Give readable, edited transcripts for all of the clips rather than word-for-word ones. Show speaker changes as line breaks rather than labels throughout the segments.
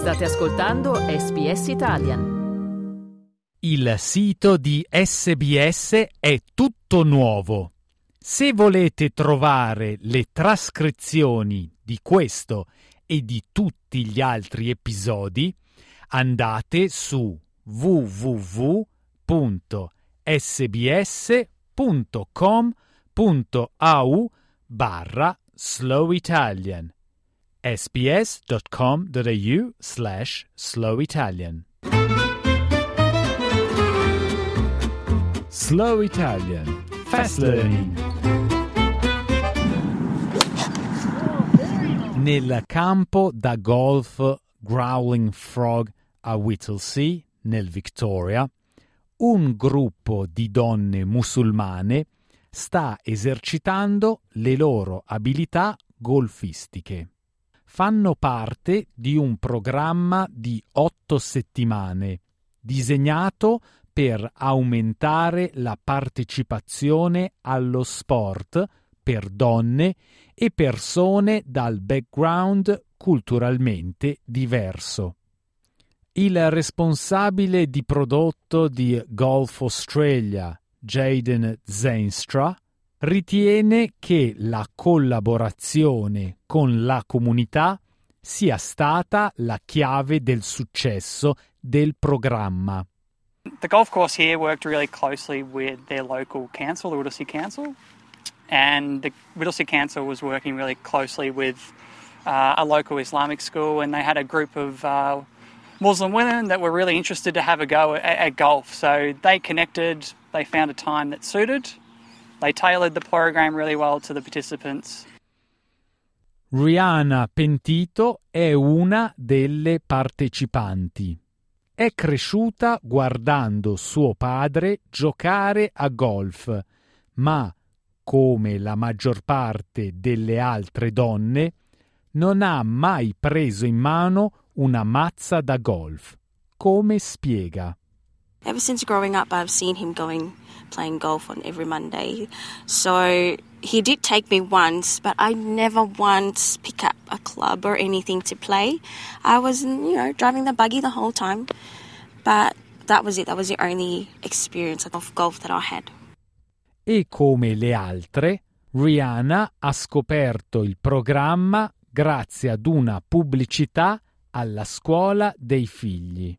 State ascoltando SBS Italian.
Il sito di SBS è tutto nuovo. Se volete trovare le trascrizioni di questo e di tutti gli altri episodi, andate su www.sbs.com.au/slowitalian sbs.com.au/slowitalian. Slow Italian Fast Learning. Nel campo da golf Growling Frog a Whittlesea, nel Victoria, un gruppo di donne musulmane sta esercitando le loro abilità golfistiche. Fanno parte di un programma di 8 settimane, disegnato per aumentare la partecipazione allo sport per donne e persone dal background culturalmente diverso. Il responsabile di prodotto di Golf Australia, Jaden Zainstra, ritiene che la collaborazione con la comunità sia stata la chiave del successo del programma.
The golf course here worked really closely with their local council, the Whittlesea Council, and the Whittlesea Council was working really closely with a local Islamic school, and they had a group of Muslim women that were really interested to have a go at golf. So they connected, they found a time that suited, they tailored the program really well to the participants.
Rihanna Pentito è una delle partecipanti. È cresciuta guardando suo padre giocare a golf, ma, come la maggior parte delle altre donne, non ha mai preso in mano una mazza da golf. Come spiega?
Ever since growing up, I've seen him playing golf on every Monday. So he did take me once, but I never once pick up a club or anything to play. I was, driving the buggy the whole time. But that was it. That was the only experience of golf that I had.
E come le altre, Rihanna ha scoperto il programma grazie ad una pubblicità alla scuola dei figli.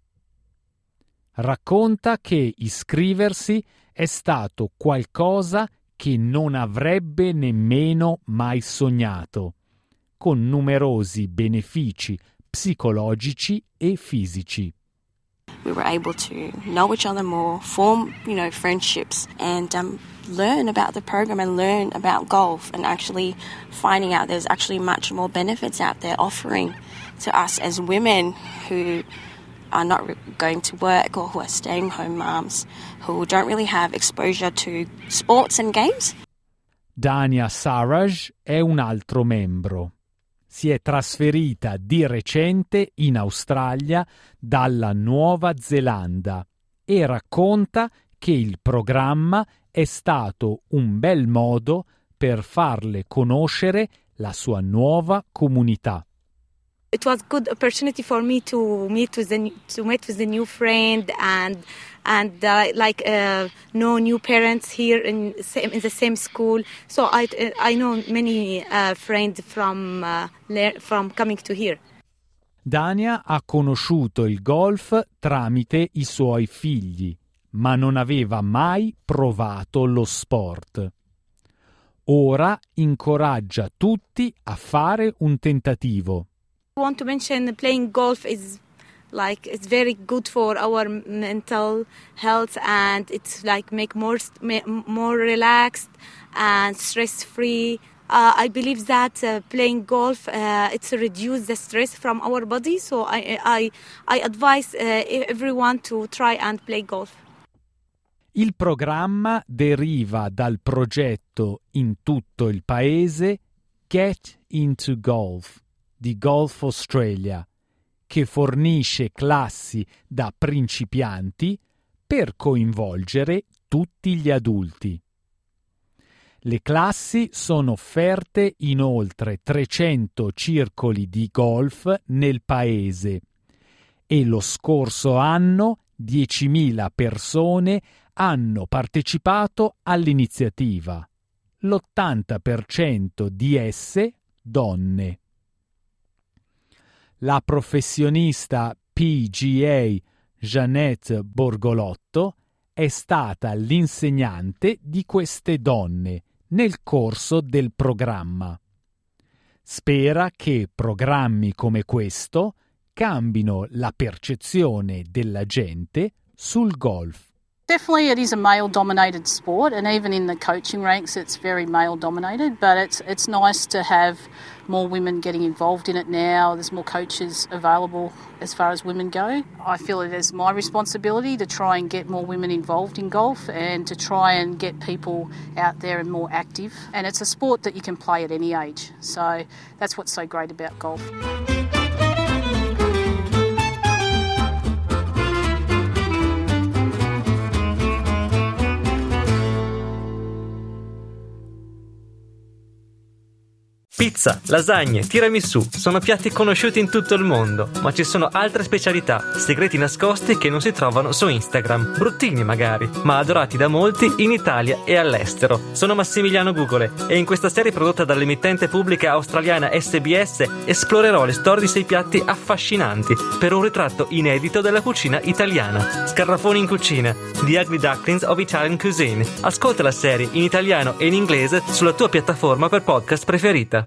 Racconta che iscriversi è stato qualcosa che non avrebbe nemmeno mai sognato, con numerosi benefici psicologici e fisici.
We were able to know each other more, form, friendships, and learn about the program and learn about golf, and actually finding out there's actually much more benefits out there offering to us as women who are not going to work or who are staying home moms, who don't really have exposure to sports and games.
Dania Saraj è un altro membro. Si è trasferita di recente in Australia dalla Nuova Zelanda e racconta che il programma è stato un bel modo per farle conoscere la sua nuova comunità.
It was a good opportunity for me to meet with the new friend and know new parents here in the same school. So I know many friends from coming to here.
Dania ha conosciuto il golf tramite i suoi figli, ma non aveva mai provato lo sport. Ora incoraggia tutti a fare un tentativo.
I want to mention playing golf is it's very good for our mental health, and it's make more relaxed and stress free. I believe that playing golf it's reduce the stress from our body, so I advise everyone to try and play golf.
Il programma deriva dal progetto in tutto il paese Get into Golf di Golf Australia, che fornisce classi da principianti per coinvolgere tutti gli adulti. Le classi sono offerte in oltre 300 circoli di golf nel paese e lo scorso anno 10.000 persone hanno partecipato all'iniziativa, l'80% di esse donne. La professionista PGA Jeanette Borgolotto è stata l'insegnante di queste donne nel corso del programma. Spera che programmi come questo cambino la percezione della gente sul golf.
Definitely it is a male-dominated sport, and even in the coaching ranks it's very male-dominated, but it's nice to have more women getting involved in it now. There's more coaches available as far as women go. I feel it is my responsibility to try and get more women involved in golf and to try and get people out there and more active. And it's a sport that you can play at any age, so that's what's so great about golf.
Pizza, lasagne, tiramisù sono piatti conosciuti in tutto il mondo, ma ci sono altre specialità, segreti nascosti che non si trovano su Instagram, bruttini magari, ma adorati da molti in Italia e all'estero. Sono Massimiliano Gugole e in questa serie prodotta dall'emittente pubblica australiana SBS esplorerò le storie di 6 piatti affascinanti per un ritratto inedito della cucina italiana. Scarafoni in cucina, The Ugly Ducklings of Italian Cuisine. Ascolta la serie in italiano e in inglese sulla tua piattaforma per podcast preferita.